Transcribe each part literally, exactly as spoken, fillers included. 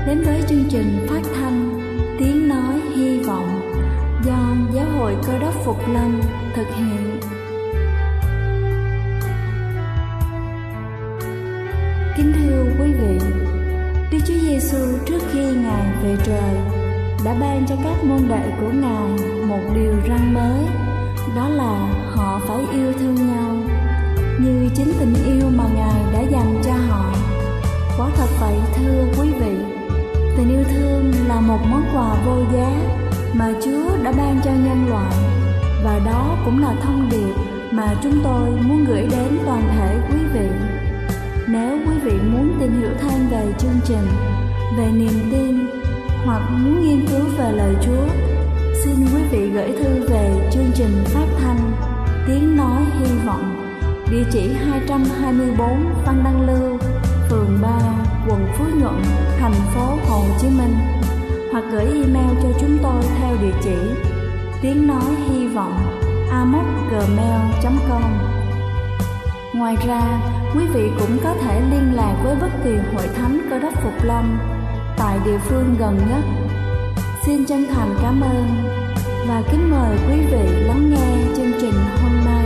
đến với chương trình phát thanh Tiếng Nói Hy Vọng do Giáo hội Cơ Đốc Phục Lâm thực hiện. Kính thưa quý vị, Đức Chúa Giêsu trước khi Ngài về trời đã ban cho các môn đệ của Ngài một điều răn mới, đó là họ phải yêu thương nhau như chính tình yêu mà Ngài đã dành cho họ. Quả thật vậy thưa quý vị, tình yêu thương là một món quà vô giá mà Chúa đã ban cho nhân loại, và đó cũng là thông điệp mà chúng tôi muốn gửi đến toàn thể quý vị. Nếu quý vị muốn tìm hiểu thêm về chương trình, về niềm tin hoặc muốn nghiên cứu về lời Chúa, xin quý vị gửi thư về chương trình phát thanh Tiếng Nói Hy Vọng, địa chỉ hai trăm hai mươi tư Phan Đăng Lưu, phường ba, quận Phú Nhuận, thành phố Hồ Chí Minh, hoặc gửi email cho chúng tôi theo địa chỉ tiếng nói hy vọng a m o c gmail chấm com. Ngoài ra, quý vị cũng có thể liên lạc với bất kỳ hội thánh Cơ Đốc Phục Lâm tại địa phương gần nhất. Xin chân thành cảm ơn và kính mời quý vị lắng nghe chương trình hôm nay.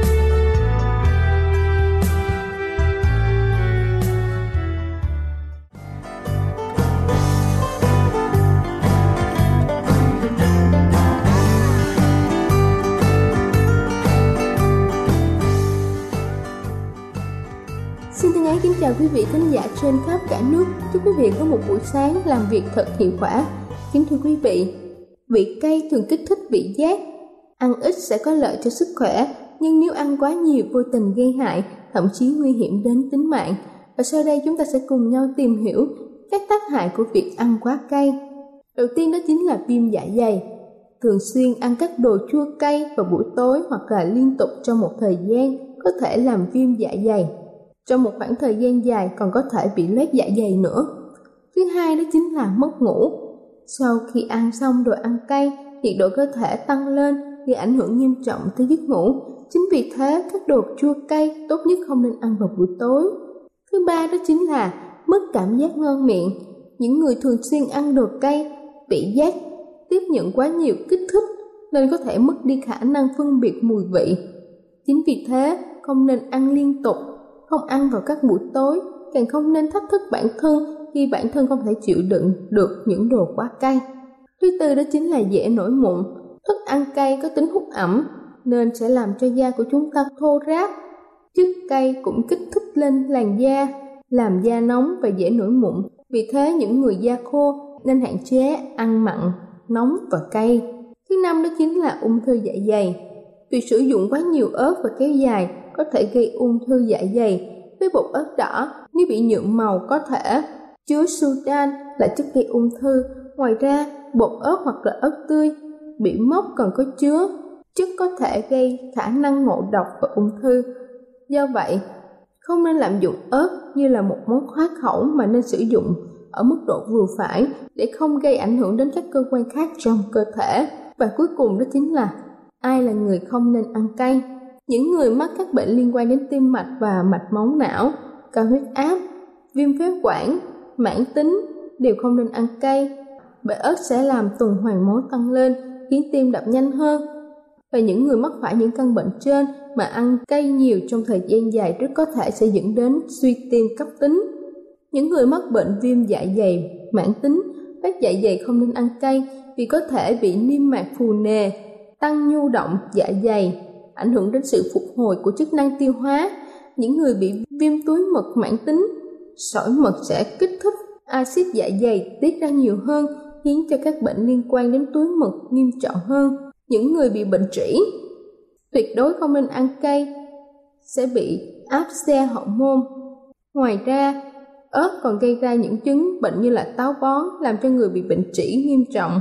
Kính chào quý vị khán giả trên khắp cả nước. Chúc quý vị có một buổi sáng làm việc thật hiệu quả. Kính thưa quý vị, vị cay thường kích thích vị giác. Ăn ít sẽ có lợi cho sức khỏe, nhưng nếu ăn quá nhiều vô tình gây hại, thậm chí nguy hiểm đến tính mạng. Và sau đây chúng ta sẽ cùng nhau tìm hiểu các tác hại của việc ăn quá cay. Đầu tiên đó chính là viêm dạ dày. Thường xuyên ăn các đồ chua cay vào buổi tối hoặc là liên tục trong một thời gian có thể làm viêm dạ dày. Trong một khoảng thời gian dài còn có thể bị loét dạ dày nữa. Thứ hai đó chính là mất ngủ. Sau khi ăn xong đồ ăn cay, nhiệt độ cơ thể tăng lên gây ảnh hưởng nghiêm trọng tới giấc ngủ. Chính vì thế, các đồ chua cay tốt nhất không nên ăn vào buổi tối. Thứ ba đó chính là mất cảm giác ngon miệng. Những người thường xuyên ăn đồ cay, vị giác tiếp nhận quá nhiều kích thích nên có thể mất đi khả năng phân biệt mùi vị. Chính vì thế, không nên ăn liên tục. Không ăn vào các buổi tối, càng không nên thách thức bản thân khi bản thân không thể chịu đựng được những đồ quá cay. Thứ tư đó chính là dễ nổi mụn. Thức ăn cay có tính hút ẩm nên sẽ làm cho da của chúng ta thô ráp. Chất cay cũng kích thích lên làn da, làm da nóng và dễ nổi mụn. Vì thế những người da khô nên hạn chế ăn mặn, nóng và cay. Thứ năm đó chính là ung thư dạ dày. Việc sử dụng quá nhiều ớt và kéo dài có thể gây ung thư dạ dày. Với bột ớt đỏ, nếu bị nhuộm màu có thể chứa sudan là chất gây ung thư. Ngoài ra, bột ớt hoặc là ớt tươi bị mốc còn có chứa chất có thể gây khả năng ngộ độc và ung thư. Do vậy, không nên lạm dụng ớt như là một món khoái khẩu mà nên sử dụng ở mức độ vừa phải để không gây ảnh hưởng đến các cơ quan khác trong cơ thể. Và cuối cùng đó chính là ai là người không nên ăn cay? Những người mắc các bệnh liên quan đến tim mạch và mạch máu não, cao huyết áp, viêm phế quản, mãn tính đều không nên ăn cay, bởi ớt sẽ làm tuần hoàn máu tăng lên, khiến tim đập nhanh hơn. Và những người mắc phải những căn bệnh trên mà ăn cay nhiều trong thời gian dài rất có thể sẽ dẫn đến suy tim cấp tính. Những người mắc bệnh viêm dạ dày mãn tính, loét dạ dày không nên ăn cay vì có thể bị niêm mạc phù nề, tăng nhu động dạ dày, ảnh hưởng đến sự phục hồi của chức năng tiêu hóa. Những người bị viêm túi mật mãn tính, sỏi mật sẽ kích thích axit dạ dày tiết ra nhiều hơn, khiến cho các bệnh liên quan đến túi mật nghiêm trọng hơn. Những người bị bệnh trĩ tuyệt đối không nên ăn cay, sẽ bị áp xe hậu môn. Ngoài ra, ớt còn gây ra những chứng bệnh như là táo bón, làm cho người bị bệnh trĩ nghiêm trọng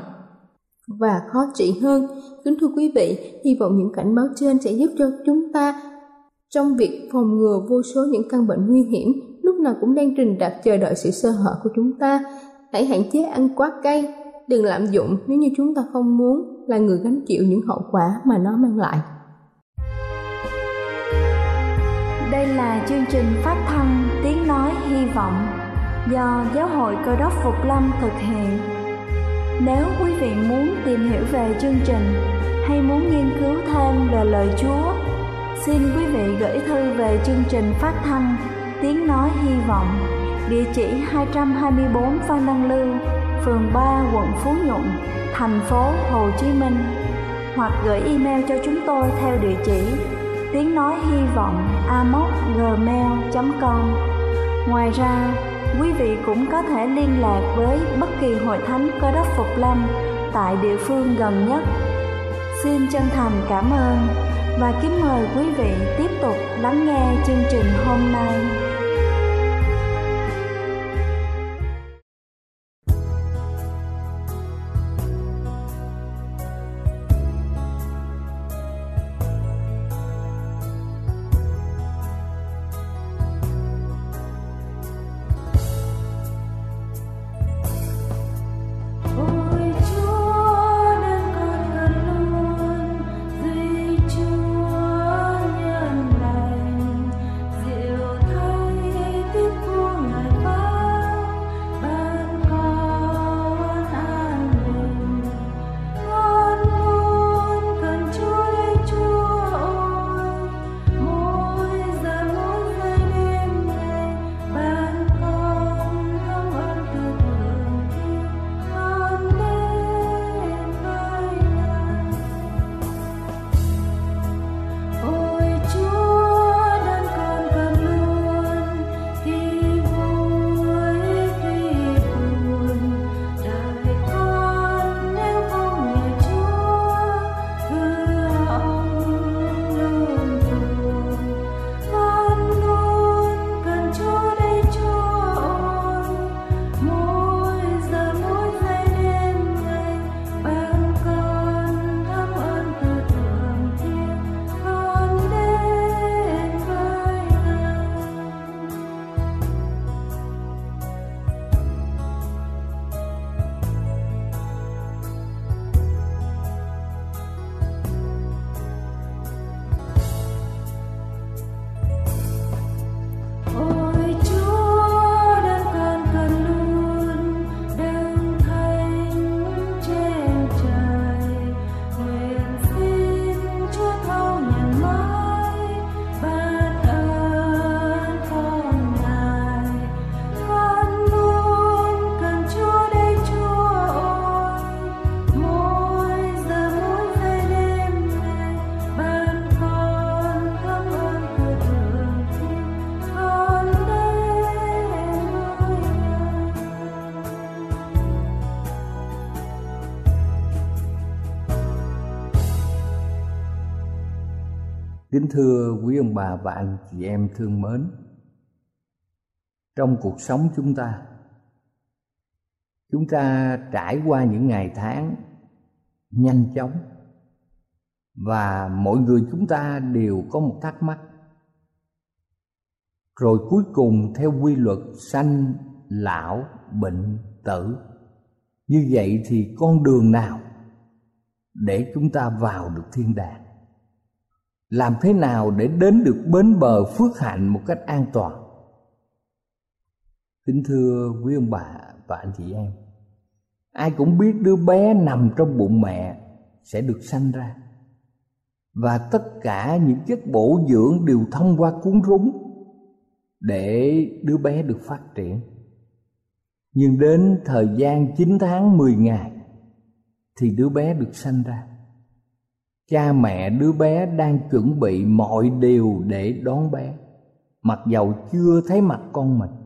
và khó trị hơn. Kính thưa quý vị, hy vọng những cảnh báo trên sẽ giúp cho chúng ta trong việc phòng ngừa vô số những căn bệnh nguy hiểm lúc nào cũng đang rình rập chờ đợi sự sơ hở của chúng ta. Hãy hạn chế ăn quá cay, đừng lạm dụng nếu như chúng ta không muốn là người gánh chịu những hậu quả mà nó mang lại. Đây là chương trình phát thanh Tiếng Nói Hy Vọng do Giáo hội Cơ đốc Phục Lâm thực hiện. Nếu quý vị muốn tìm hiểu về chương trình hay muốn nghiên cứu thêm về lời Chúa, xin quý vị gửi thư về chương trình phát thanh Tiếng Nói Hy Vọng, địa chỉ hai trăm hai mươi bốn Phan Đăng Lưu, phường ba, quận Phú Nhuận, thành phố Hồ Chí Minh, hoặc gửi email cho chúng tôi theo địa chỉ tiếng nói hy vọng a m o c gmail chấm com. Ngoài ra, quý vị cũng có thể liên lạc với bất kỳ hội thánh Cơ đốc Phục Lâm tại địa phương gần nhất. Xin chân thành cảm ơn và kính mời quý vị tiếp tục lắng nghe chương trình hôm nay. Kính thưa quý ông bà và anh chị em thương mến, trong cuộc sống chúng ta, chúng ta trải qua những ngày tháng nhanh chóng, và mỗi người chúng ta đều có một thắc mắc. Rồi cuối cùng theo quy luật sanh, lão, bệnh, tử, như vậy thì con đường nào để chúng ta vào được thiên đàng? Làm thế nào để đến được bến bờ phước hạnh một cách an toàn? Kính thưa quý ông bà và anh chị em, ai cũng biết đứa bé nằm trong bụng mẹ sẽ được sanh ra, và tất cả những chất bổ dưỡng đều thông qua cuốn rúng để đứa bé được phát triển. Nhưng đến thời gian chín tháng mười ngày thì đứa bé được sanh ra. Cha mẹ đứa bé đang chuẩn bị mọi điều để đón bé, mặc dầu chưa thấy mặt con mình.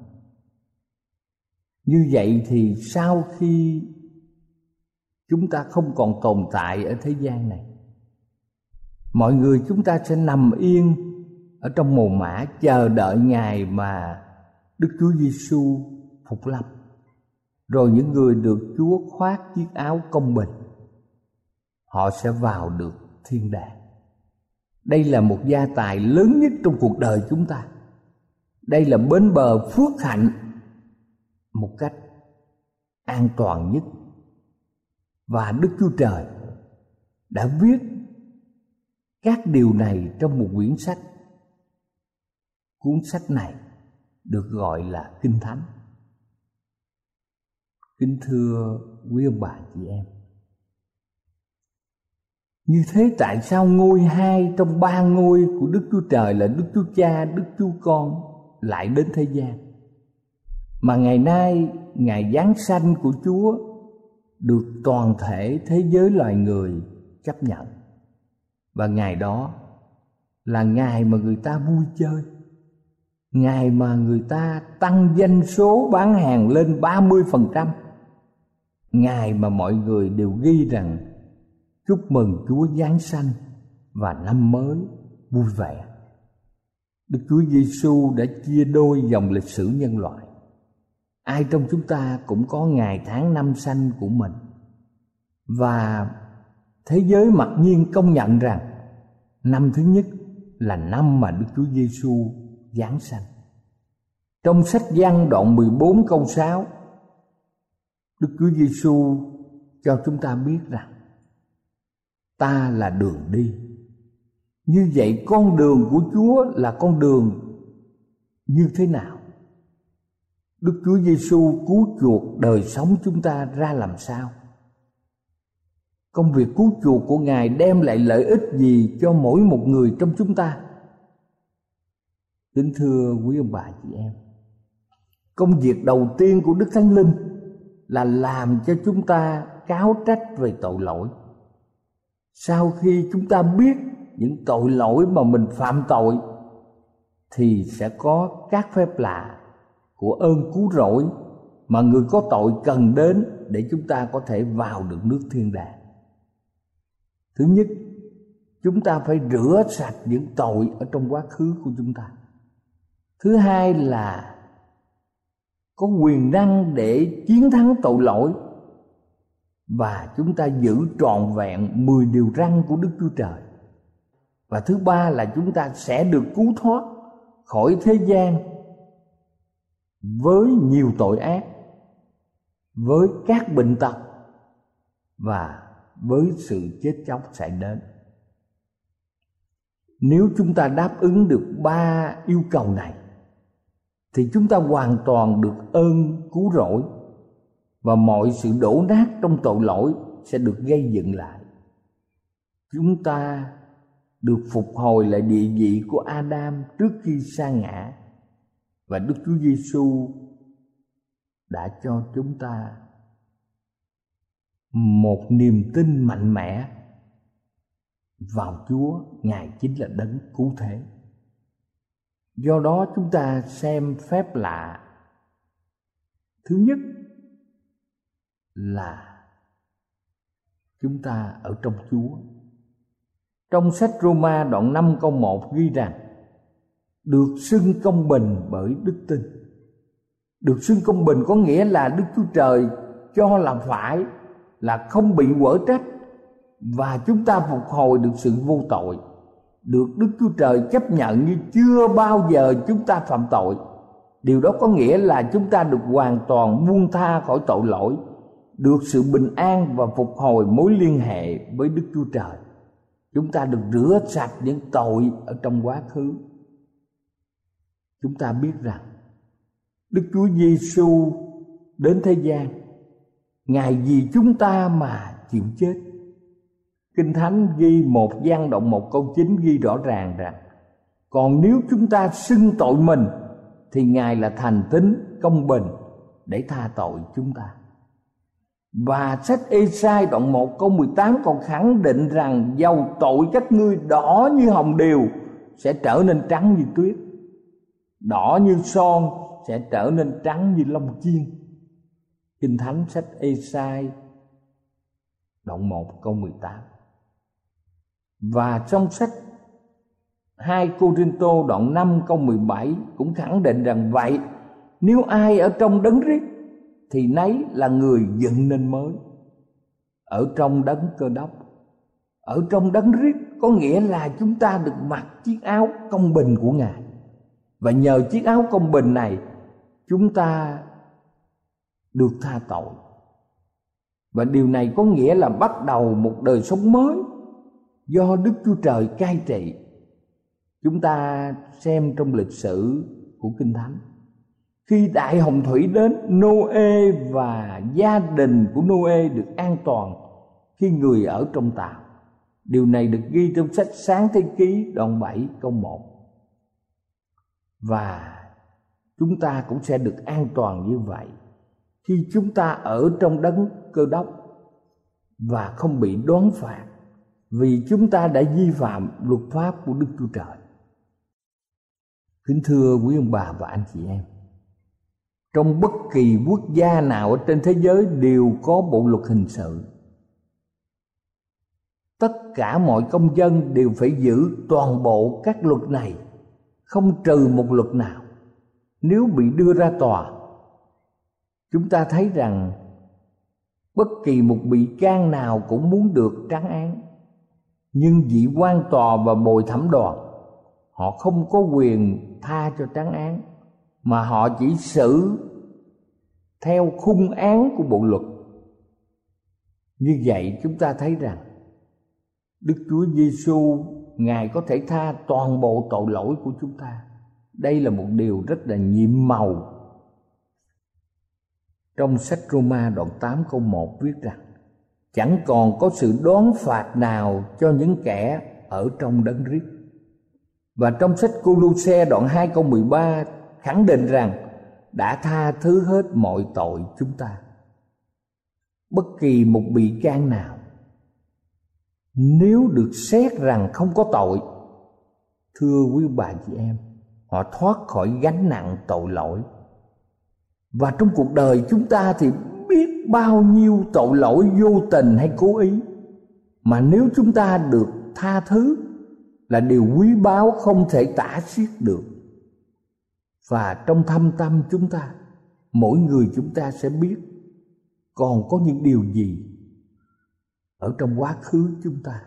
Như vậy thì sau khi chúng ta không còn tồn tại ở thế gian này, mọi người chúng ta sẽ nằm yên ở trong mồ mả, chờ đợi ngày mà Đức Chúa Giêsu phục lâm. Rồi những người được Chúa khoác chiếc áo công bình, họ sẽ vào được thiên đàng. Đây là một gia tài lớn nhất trong cuộc đời chúng ta. Đây là bến bờ phước hạnh một cách an toàn nhất. Và Đức Chúa Trời đã viết các điều này trong một quyển sách. Cuốn sách này được gọi là Kinh Thánh. Kính thưa quý ông bà chị em, như thế tại sao ngôi hai trong ba ngôi của Đức Chúa Trời là Đức Chúa Cha, Đức Chúa Con lại đến thế gian, mà ngày nay ngày giáng sanh của Chúa được toàn thể thế giới loài người chấp nhận, và ngày đó là ngày mà người ta vui chơi, ngày mà người ta tăng doanh số bán hàng lên ba mươi phần trăm, ngày mà mọi người đều ghi rằng chúc mừng Chúa giáng sanh và năm mới vui vẻ. Đức Chúa Giêsu đã chia đôi dòng lịch sử nhân loại. Ai trong chúng ta cũng có ngày tháng năm sanh của mình, và thế giới mặc nhiên công nhận rằng năm thứ nhất là năm mà Đức Chúa Giêsu giáng sanh. Trong sách Giăng đoạn mười bốn câu sáu, Đức Chúa Giêsu cho chúng ta biết rằng ta là đường đi. Như vậy con đường của Chúa là con đường như thế nào? Đức Chúa Giêsu cứu chuộc đời sống chúng ta ra làm sao? Công việc cứu chuộc của Ngài đem lại lợi ích gì cho mỗi một người trong chúng ta? Kính thưa quý ông bà chị em, công việc đầu tiên của Đức Thánh Linh là làm cho chúng ta cáo trách về tội lỗi. Sau khi chúng ta biết những tội lỗi mà mình phạm tội, thì sẽ có các phép lạ của ơn cứu rỗi mà người có tội cần đến để chúng ta có thể vào được nước thiên đàng. Thứ nhất, chúng ta phải rửa sạch những tội ở trong quá khứ của chúng ta. Thứ hai là có quyền năng để chiến thắng tội lỗi, và chúng ta giữ trọn vẹn mười điều răn của Đức Chúa Trời. Và thứ ba là chúng ta sẽ được cứu thoát khỏi thế gian với nhiều tội ác, với các bệnh tật và với sự chết chóc xảy đến. Nếu chúng ta đáp ứng được ba yêu cầu này, thì chúng ta hoàn toàn được ơn cứu rỗi, và mọi sự đổ nát trong tội lỗi sẽ được gây dựng lại. Chúng ta được phục hồi lại địa vị của Adam trước khi sa ngã, và Đức Chúa Giêsu đã cho chúng ta một niềm tin mạnh mẽ vào Chúa. Ngài chính là đấng cứu thế. Do đó chúng ta xem phép lạ thứ nhất là chúng ta ở trong Chúa. Trong sách Roma đoạn năm câu một ghi rằng được xưng công bình bởi đức tin. Được xưng công bình có nghĩa là Đức Chúa Trời cho là phải, là không bị quở trách, và chúng ta phục hồi được sự vô tội, được Đức Chúa Trời chấp nhận như chưa bao giờ chúng ta phạm tội. Điều đó có nghĩa là chúng ta được hoàn toàn buông tha khỏi tội lỗi, được sự bình an và phục hồi mối liên hệ với Đức Chúa Trời. Chúng ta được rửa sạch những tội ở trong quá khứ. Chúng ta biết rằng Đức Chúa Giêsu đến thế gian, Ngài vì chúng ta mà chịu chết. Kinh Thánh ghi một Giăng đoạn một câu chín ghi rõ ràng rằng còn nếu chúng ta xưng tội mình, thì Ngài là thành tín công bình để tha tội chúng ta. Và sách Ê-sai đoạn một câu mười tám còn khẳng định rằng dầu tội các ngươi đỏ như hồng điều sẽ trở nên trắng như tuyết, đỏ như son sẽ trở nên trắng như lông chiên. Kinh Thánh sách Ê-sai đoạn một câu mười tám. Và trong sách hai Cô-rinh-tô đoạn năm câu mười bảy cũng khẳng định rằng vậy, nếu ai ở trong đấng Christ thì nấy là người dựng nên mới. Ở trong đấng Cơ Đốc, ở trong đấng Christ có nghĩa là chúng ta được mặc chiếc áo công bình của Ngài, và nhờ chiếc áo công bình này chúng ta được tha tội. Và điều này có nghĩa là bắt đầu một đời sống mới do Đức Chúa Trời cai trị. Chúng ta xem trong lịch sử của Kinh Thánh, Khi đại hồng thủy đến, Nô-ê và gia đình của Nô-ê được an toàn khi người ở trong tàu. Điều này được ghi trong sách Sáng Thế Ký đoạn bảy câu một. Và chúng ta cũng sẽ được an toàn như vậy khi chúng ta ở trong đấng Cơ Đốc và không bị đoán phạt vì chúng ta đã vi phạm luật pháp của Đức Chúa Trời. Kính thưa quý ông bà và anh chị em, trong bất kỳ quốc gia nào ở trên thế giới đều có bộ luật hình sự. Tất cả mọi công dân đều phải giữ toàn bộ các luật này, không trừ một luật nào. Nếu bị đưa ra tòa, chúng ta thấy rằng bất kỳ một bị can nào cũng muốn được trắng án, nhưng vị quan tòa và bồi thẩm đoàn họ không có quyền tha cho trắng án, mà họ chỉ xử theo khung án của bộ luật. Như vậy chúng ta thấy rằng Đức Chúa Giêsu Ngài có thể tha toàn bộ tội lỗi của chúng ta. Đây là một điều rất là nhiệm màu. Trong sách Roma đoạn tám câu một viết rằng: chẳng còn có sự đoán phạt nào cho những kẻ ở trong Đấng Christ. Và trong sách Cô-lô-se đoạn hai câu mười ba khẳng định rằng đã tha thứ hết mọi tội chúng ta. Bất kỳ một bị can nào nếu được xét rằng không có tội, thưa quý bà chị em, họ thoát khỏi gánh nặng tội lỗi. Và trong cuộc đời chúng ta thì biết bao nhiêu tội lỗi vô tình hay cố ý, mà nếu chúng ta được tha thứ là điều quý báu không thể tả xiết được. Và trong thâm tâm chúng ta, mỗi người chúng ta sẽ biết còn có những điều gì ở trong quá khứ chúng ta.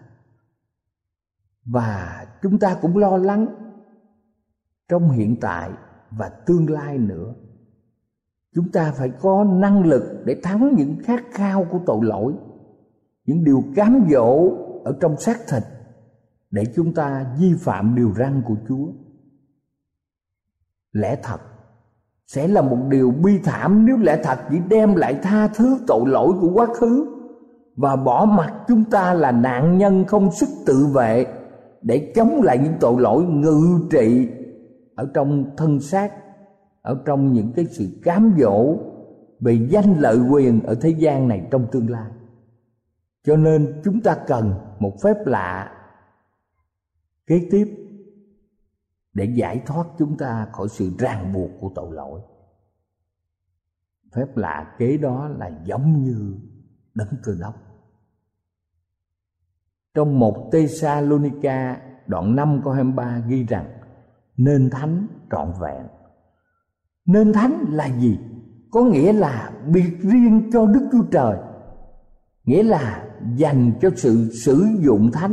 Và chúng ta cũng lo lắng trong hiện tại và tương lai nữa. Chúng ta phải có năng lực để thắng những khát khao của tội lỗi, những điều cám dỗ ở trong xác thịt, để chúng ta vi phạm điều răn của Chúa. Lẽ thật sẽ là một điều bi thảm nếu lẽ thật chỉ đem lại tha thứ tội lỗi của quá khứ và bỏ mặc chúng ta là nạn nhân không sức tự vệ để chống lại những tội lỗi ngự trị ở trong thân xác, ở trong những cái sự cám dỗ về danh lợi quyền ở thế gian này trong tương lai. Cho nên chúng ta cần một phép lạ kế tiếp để giải thoát chúng ta khỏi sự ràng buộc của tội lỗi. Phép lạ kế đó là giống như Đấng Cơ Đốc. Trong một Tê-sa-lô-ni-ca đoạn năm câu hai mươi ba ghi rằng: nên thánh trọn vẹn. Nên thánh là gì? Có nghĩa là biệt riêng cho Đức Chúa Trời, nghĩa là dành cho sự sử dụng thánh.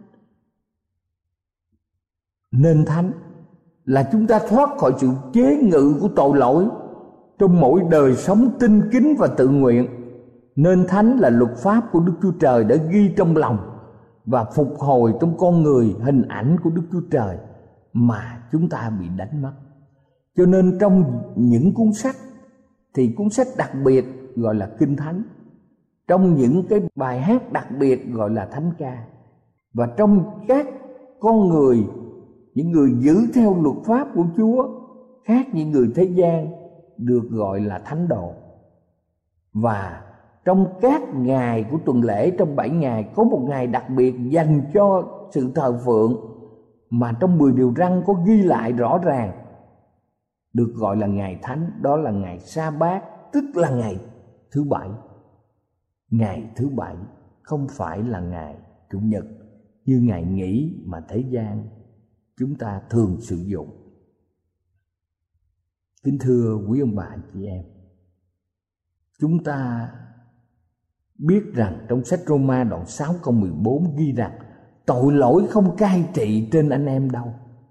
Nên thánh là chúng ta thoát khỏi sự chế ngự của tội lỗi trong mỗi đời sống tinh kính và tự nguyện. Nên thánh là luật pháp của Đức Chúa Trời đã ghi trong lòng và phục hồi trong con người hình ảnh của Đức Chúa Trời mà chúng ta bị đánh mất. Cho nên trong những cuốn sách thì cuốn sách đặc biệt gọi là Kinh Thánh, trong những cái bài hát đặc biệt gọi là thánh ca, và trong các con người, những người giữ theo luật pháp của Chúa khác những người thế gian được gọi là thánh đồ. Và trong các ngày của tuần lễ, trong bảy ngày có một ngày đặc biệt dành cho sự thờ phượng mà trong mười điều răn có ghi lại rõ ràng, được gọi là ngày thánh. Đó là ngày Sa-bát, tức là ngày thứ bảy. Ngày thứ bảy không phải là ngày Chủ nhật như ngày nghỉ mà thế gian chúng ta thường sử dụng. Kính thưa quý ông bà chị em, chúng ta biết rằng trong sách Roma đoạn sáu câu mười bốn ghi rằng tội lỗi không cai trị trên anh em đâu.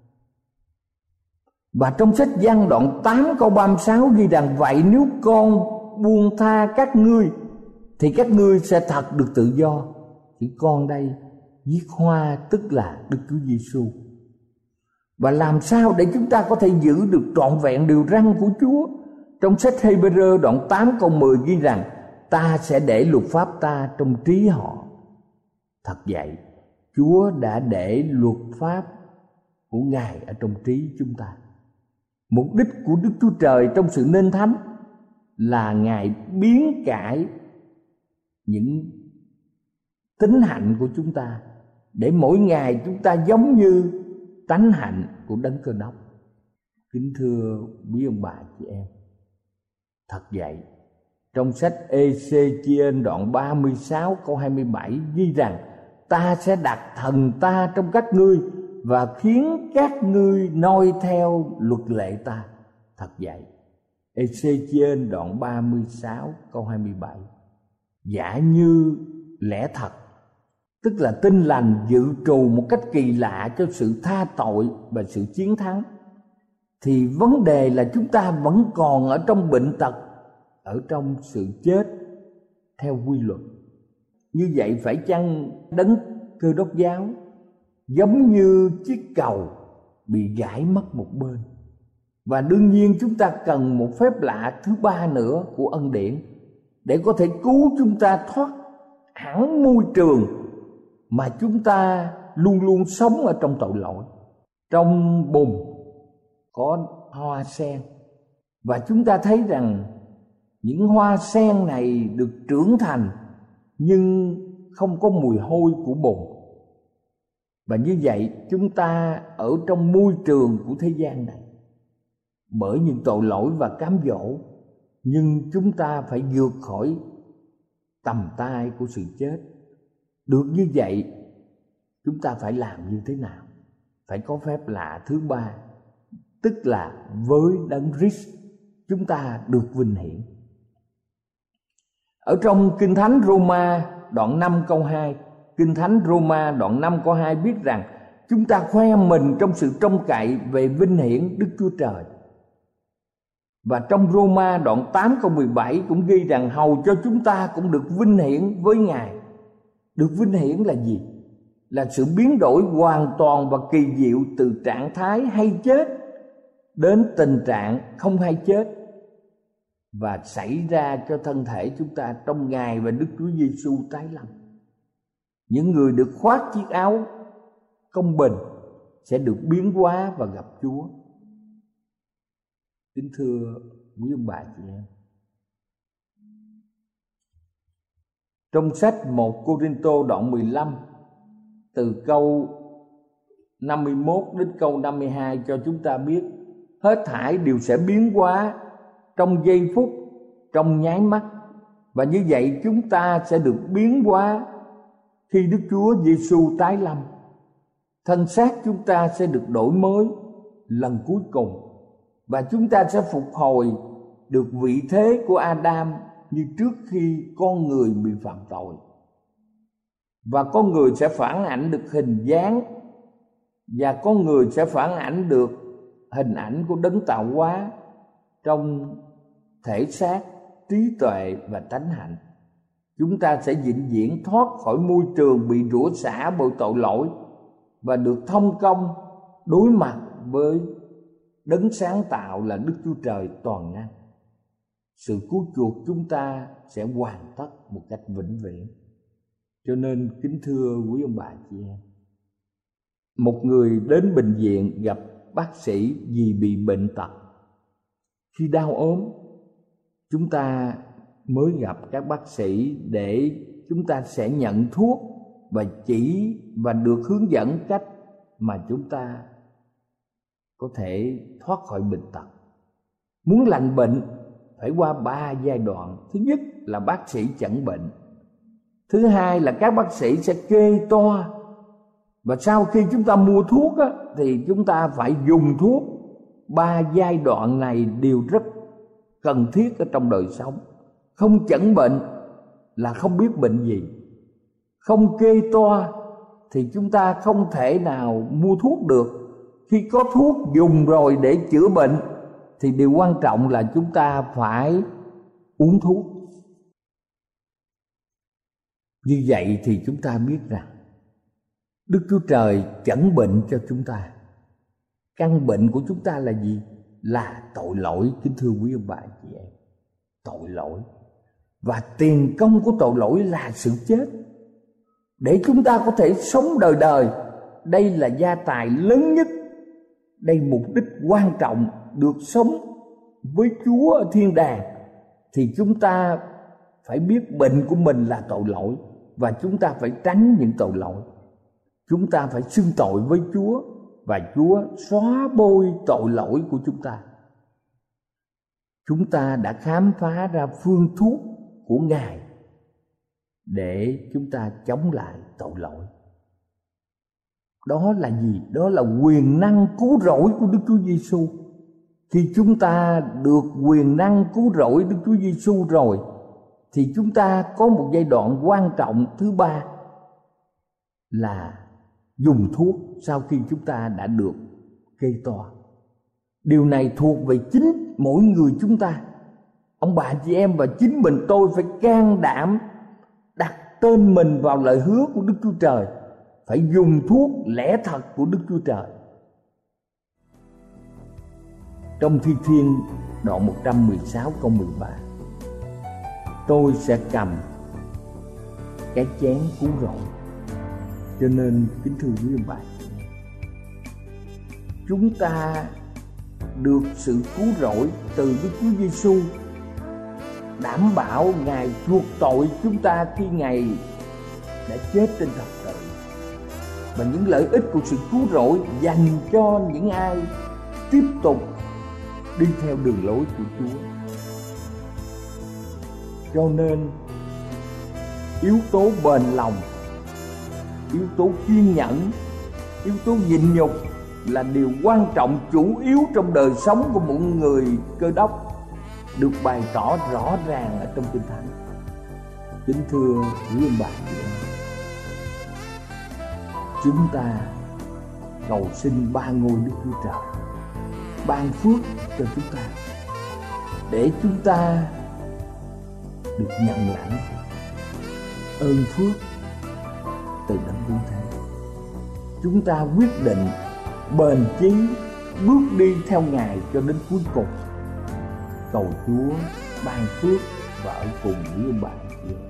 Và trong sách Giăng đoạn tám câu ba mươi sáu ghi rằng: vậy nếu con buông tha các ngươi thì các ngươi sẽ thật được tự do. Thì con đây viết hoa tức là Đức Chúa Giêsu. Và làm sao để chúng ta có thể giữ được trọn vẹn điều răn của Chúa Trong sách Hê-bê-rơ đoạn tám câu mười ghi rằng: ta sẽ để luật pháp ta trong trí họ. Thật vậy, Chúa đã để luật pháp của Ngài ở trong trí chúng ta. Mục đích của Đức Chúa Trời trong sự nên thánh là Ngài biến cải những tính hạnh của chúng ta, để mỗi ngày chúng ta giống như tánh hạnh của Đấng Cơ Đốc. Kính thưa quý ông bà chị em, thật vậy, trong sách Ê-xê-chi-ên đoạn ba mươi sáu câu hai mươi bảy ghi rằng: ta sẽ đặt thần ta trong các ngươi và khiến các ngươi noi theo luật lệ ta. Thật vậy, Ê-xê-chi-ên đoạn ba mươi sáu câu hai mươi bảy. Giả như lẽ thật, tức là tin lành dự trù một cách kỳ lạ cho sự tha tội và sự chiến thắng, thì vấn đề là chúng ta vẫn còn ở trong bệnh tật, ở trong sự chết theo quy luật. Như vậy phải chăng Đấng Cơ Đốc giáo giống như chiếc cầu bị gãy mất một bên? Và đương nhiên chúng ta cần một phép lạ thứ ba nữa của ân điển để có thể cứu chúng ta thoát hẳn môi trường mà chúng ta luôn luôn sống ở trong tội lỗi. Trong bùn có hoa sen, và chúng ta thấy rằng những hoa sen này được trưởng thành nhưng không có mùi hôi của bùn. Và như vậy chúng ta ở trong môi trường của thế gian này, bởi những tội lỗi và cám dỗ, nhưng chúng ta phải vượt khỏi tầm tay của sự chết. Được như vậy, chúng ta phải làm như thế nào? Phải có phép lạ thứ ba, tức là với Đấng Christ chúng ta được vinh hiển. Ở trong Kinh Thánh Roma đoạn năm câu hai, Kinh Thánh Roma đoạn năm câu hai viết rằng: chúng ta khoe mình trong sự trông cậy về vinh hiển Đức Chúa Trời. Và trong Roma đoạn tám câu mười bảy cũng ghi rằng: hầu cho chúng ta cũng được vinh hiển với Ngài. Được vinh hiển là gì? Là sự biến đổi hoàn toàn và kỳ diệu từ trạng thái hay chết đến tình trạng không hay chết, và xảy ra cho thân thể chúng ta trong Ngài và Đức Chúa Giêsu tái lâm. Những người được khoác chiếc áo công bình sẽ được biến hóa và gặp Chúa. Kính thưa quý ông bà chị em, trong sách một Cô-rinh-tô đoạn mười lăm từ câu năm mươi mốt đến câu năm mươi hai cho chúng ta biết hết thảy đều sẽ biến hóa trong giây phút, trong nháy mắt. Và như vậy chúng ta sẽ được biến hóa khi Đức Chúa Giêsu tái lâm. Thân xác chúng ta sẽ được đổi mới lần cuối cùng, và chúng ta sẽ phục hồi được vị thế của Adam như trước khi con người bị phạm tội. Và con người sẽ phản ảnh được hình dáng, và con người sẽ phản ảnh được hình ảnh của Đấng tạo hóa trong thể xác, trí tuệ và tánh hạnh. Chúng ta sẽ vĩnh viễn thoát khỏi môi trường bị rủa xả bởi tội lỗi và được thông công đối mặt với Đấng sáng tạo là Đức Chúa Trời toàn năng. Sự cứu chuộc chúng ta sẽ hoàn tất một cách vĩnh viễn. Cho nên kính thưa quý ông bà chị em, một người đến bệnh viện gặp bác sĩ vì bị bệnh tật. Khi đau ốm, chúng ta mới gặp các bác sĩ để chúng ta sẽ nhận thuốc và chỉ và được hướng dẫn cách mà chúng ta có thể thoát khỏi bệnh tật. Muốn lành bệnh phải qua ba giai đoạn. Thứ nhất là bác sĩ chẩn bệnh. Thứ hai là các bác sĩ sẽ kê toa. Và sau khi chúng ta mua thuốc á, thì chúng ta phải dùng thuốc. Ba giai đoạn này đều rất cần thiết ở trong đời sống. Không chẩn bệnh là không biết bệnh gì. Không kê toa thì chúng ta không thể nào mua thuốc được. Khi có thuốc dùng rồi để chữa bệnh thì điều quan trọng là chúng ta phải uống thuốc. Như vậy thì chúng ta biết rằng Đức Chúa Trời chẩn bệnh cho chúng ta. Căn bệnh của chúng ta là gì? là tội lỗi, kính thưa quý ông bà chị em. Tội lỗi. Và tiền công của tội lỗi là sự chết. Để chúng ta có thể sống đời đời, đây là gia tài lớn nhất. Đây mục đích quan trọng, được sống với Chúa ở thiên đàng. Thì chúng ta phải biết bệnh của mình là tội lỗi, và chúng ta phải tránh những tội lỗi. Chúng ta phải xưng tội với Chúa, và Chúa xóa bôi tội lỗi của chúng ta. Chúng ta đã khám phá ra phương thuốc của Ngài để chúng ta chống lại tội lỗi. Đó là gì? Đó là quyền năng cứu rỗi của Đức Chúa Giêsu. Khi chúng ta được quyền năng cứu rỗi Đức Chúa Giêsu rồi, thì chúng ta có một giai đoạn quan trọng thứ ba là dùng thuốc sau khi chúng ta đã được kê toa. Điều này thuộc về chính mỗi người chúng ta. Ông bà chị em và chính mình tôi phải can đảm đặt tên mình vào lời hứa của Đức Chúa Trời, phải dùng thuốc lẽ thật của Đức Chúa Trời. Trong Thi Thiên đoạn một trăm mười sáu câu mười ba, tôi sẽ cầm cái chén cứu rỗi. Cho nên kính thưa quý ông bà, chúng ta được sự cứu rỗi từ Đức Chúa Giêsu, đảm bảo Ngài chuộc tội chúng ta khi Ngài đã chết trên thập tự. Và những lợi ích của sự cứu rỗi dành cho những ai tiếp tục đi theo đường lối của Chúa. Cho nên yếu tố bền lòng, yếu tố kiên nhẫn, yếu tố nhịn nhục là điều quan trọng chủ yếu trong đời sống của mỗi người Cơ Đốc, được bày tỏ rõ ràng ở trong Kinh Thánh. Kính thưa quý ông bà chị em, chúng ta cầu xin ba ngôi Đức Chúa Trời ban phước cho chúng ta, để chúng ta được nhận lãnh ơn phước từ đấng cứu thế. Chúng ta quyết định bền chí bước đi theo Ngài cho đến cuối cùng. Cầu Chúa ban phước và ở cùng với ông bà chị em.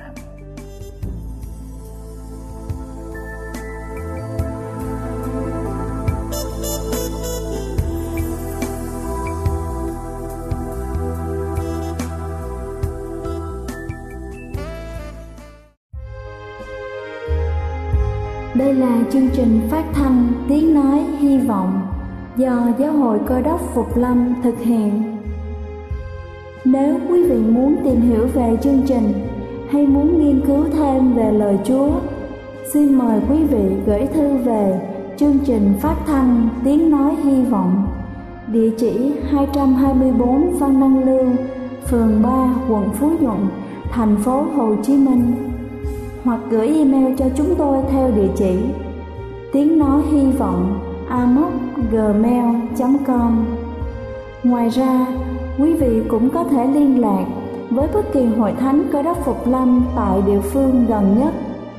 Đây là chương trình phát thanh Tiếng Nói Hy Vọng do Giáo hội Cơ Đốc Phục Lâm thực hiện. Nếu quý vị muốn tìm hiểu về chương trình hay muốn nghiên cứu thêm về lời Chúa, xin mời quý vị gửi thư về chương trình phát thanh Tiếng Nói Hy Vọng, địa chỉ hai trăm hai mươi bốn Phan Đăng Lưu, phường ba, quận Phú Nhuận, thành phố Hồ Chí Minh, hoặc gửi email cho chúng tôi theo địa chỉ tiếng nói hy vọng a m o c gmail chấm com. Ngoài ra, quý vị cũng có thể liên lạc với bất kỳ hội thánh Cơ Đốc Phục Lâm tại địa phương gần nhất.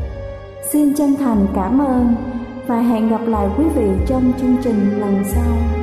Xin chân thành cảm ơn và hẹn gặp lại quý vị trong chương trình lần sau.